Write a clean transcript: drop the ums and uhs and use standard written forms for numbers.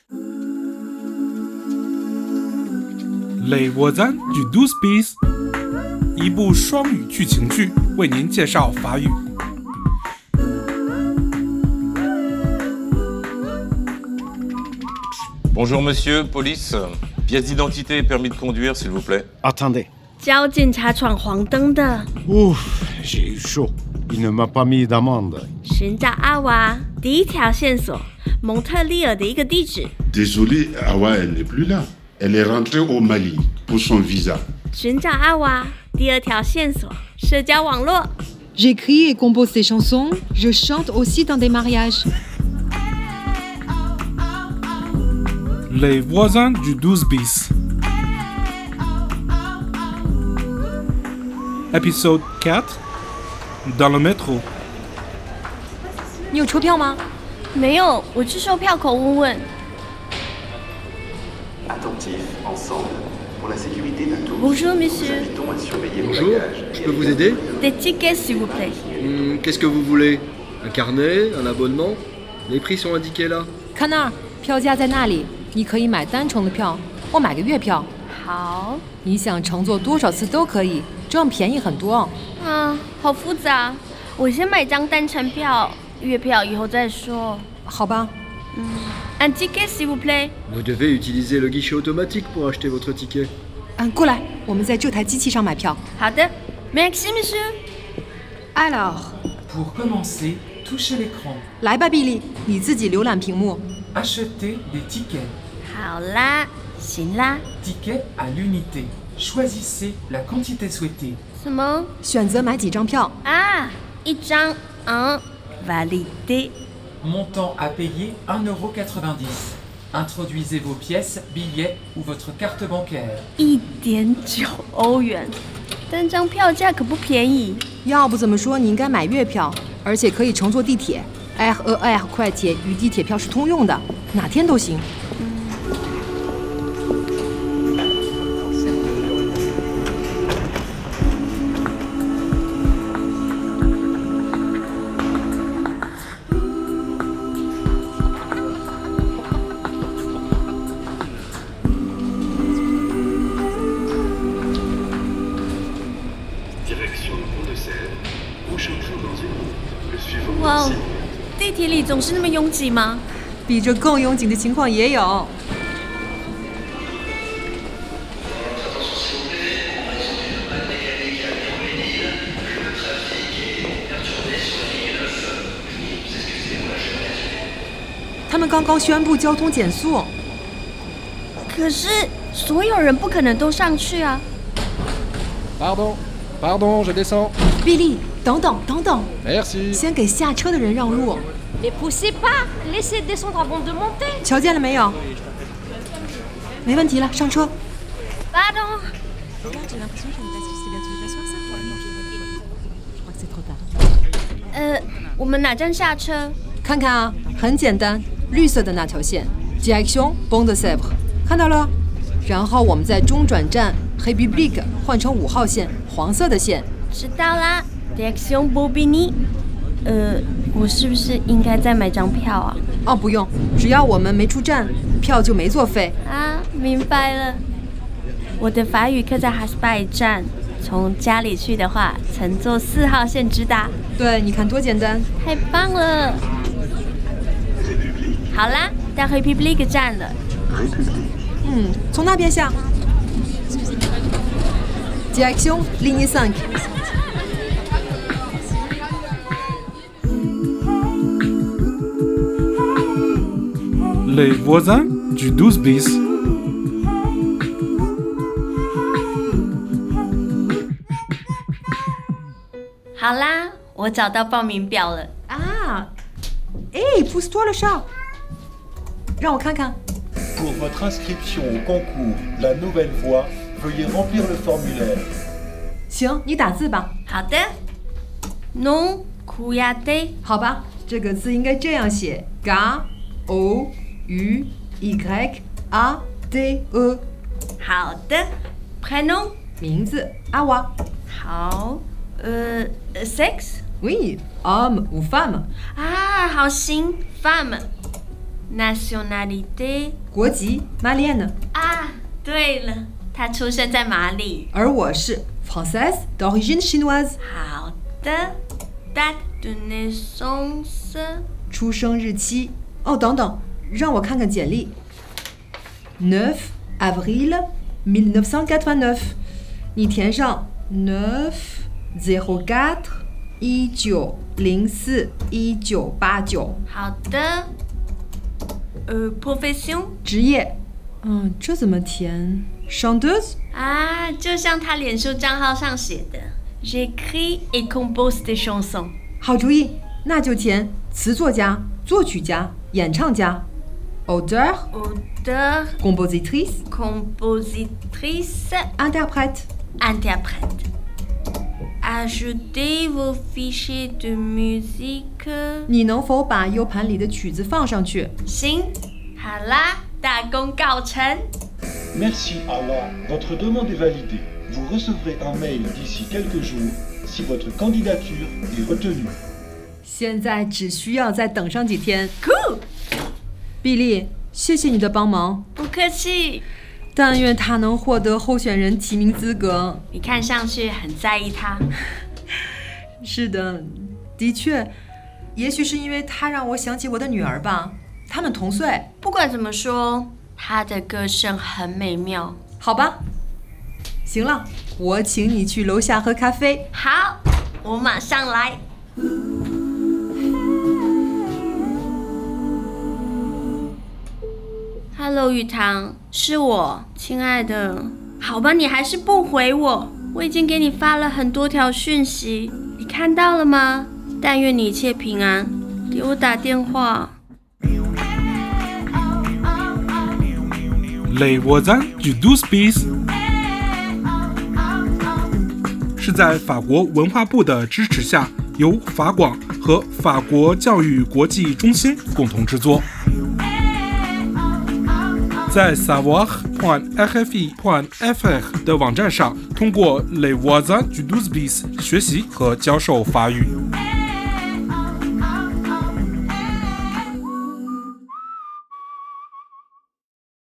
Les voisins du 12 bis， 一部双语剧情剧，为您介绍法语。 Bonjour monsieur, police. Pièce d'identité et permis de conduire, s'il vous plaît. Attendez. 交警察闯黄灯的。 Ouf, j'ai eu chaud. Il ne m'a pas mis d'amende. 寻找阿娃，第一条线索，蒙特利尔的一个地址。 Désolé, Awa, elle n'est plus là. Elle est rentrée au Mali pour son visa. 寻找阿娃，第二条线索，社交网络。 J'écris et compose des chansons. Je chante aussi dans des mariages. Les voisins du 12 bis. Épisode 4. Dans le métro. 你有车票吗？ 没有，我去售票口问问。 Attentifs, ensemble. Pour la sécurité de tous, Bonjour, monsieur. nous invitons à surveiller vos Bonjour, bagages. je peux vous aider? Des tickets, s'il vous plaît. Qu'est-ce que vous voulez? Un carnet? Un abonnement? Les prix sont indiqués là. 看那儿，票价在那里。你可以买单程的票，或买个月票。 好。 你想乘坐多少次都可以，这样便宜很多。 好复杂。我先买张单程票，月票以后再说。 好吧。 Un ticket, s'il vous plaît. Vous devez utiliser le guichet automatique pour acheter votre ticket. 过来，我们在这台机器上买票。 好的 ，Merci, monsieur. Alors, Pour commencer, touchez l'écran. 来吧，比利，你自己浏览屏幕。 Achetez des tickets. 好啦，行啦。 Tickets à l'unité. Choisissez la quantité souhaitée. 什么？ 选择买几张票。 一张validé. Montant à payer 1,90€. Introduisez vos pièces, billets ou votre carte bancaire. 1.9欧元，单张票价可不便宜。 要不怎么说你应该买月票，而且可以乘坐地铁。RER 快铁与地铁票是通用的，哪天都行。 哇哦，地铁里总是那么拥挤吗？ 比这更拥挤的情况也有。他们刚刚宣布交通减速。 可是所有人不可能都上去啊。 Pardon, je descends. 比利，等等。 Merci. 先给下车的人让路。 Ne poussez pas, laissez descendre avant de monter. 瞧见了没有？没问题了，上车。 Pardon. 我们哪站下车？ 看看啊，很简单，绿色的那条线 ，Direction Pont de Sèvres， 看到了。然后我们在中转站 République 换成5号线，黄色的线。 知道啦 ，Direction Bobigny。我是不是应该再买张票啊？ 不用，只要我们没出站，票就没作废。 明白了。我的法语课在哈斯拜站，从家里去的话，乘坐4号线直达。 对，你看多简单。 太棒了。好啦，到 République 站了。 从那边下。Direction Ligne 5。 Les voisins du 12 bis. 好啦，我找到报名表了。 pousse-toi le chat。让我看看。 Pour votre inscription au concours La Nouvelle Voix, veuillez remplir le formulaire. 行，你打字吧。 好的。Non Kuyate。 好吧，这个字应该这样写 G-O-U-Y-A-T-E。 好的。Prénom。 名字阿娃。 好。Sex。 Oui, homme ou femme。 好行 ，femme。 nationalité 国籍 Malienne。 啊，对了，他出生在马里。 而我是 Française d'origine chinoise。 好的 ，date de naissance 出生日期。哦，等等，让我看看简历。9 avril 1989，你填上904 1904 1989。 好的。profession 职业，这怎么填 ？Chanteuse 啊，就像他脸书账号上写的 ，j'écris et compose des chansons。 好主意，那就填词作家、作曲家、演唱家。Auteur compositrice interprète Ajoutez vos fichiers de musique。 你能否把 U 盘里的曲子放上去？ 行，好啦，大功告成。 Merci Allah, votre demande est validée. Vous recevrez un mail d'ici quelques jours si votre candidature est retenue. 现在只需要再等上几天。 Cool。 比利，谢谢你的帮忙。 不客气。 但愿他能获得候选人提名资格。 你看上去很在意他。 是的，的确，也许是因为他让我想起我的女儿吧。他们同岁。 不管怎么说，他的歌声很美妙。 好吧，行了，我请你去楼下喝咖啡。 好，我马上来。Hello， 雨堂，是我，亲爱的。好吧，你还是不回我。我已经给你发了很多条讯息，你看到了吗？但愿你一切平安，给我打电话。 Les voisins du 12 bis 是在法国文化部的支持下，由法广和法国教育国际中心共同制作。在 savoir.rfi.fr 的网站上，通过 Les voisins du 12 bis 学习和教授法语。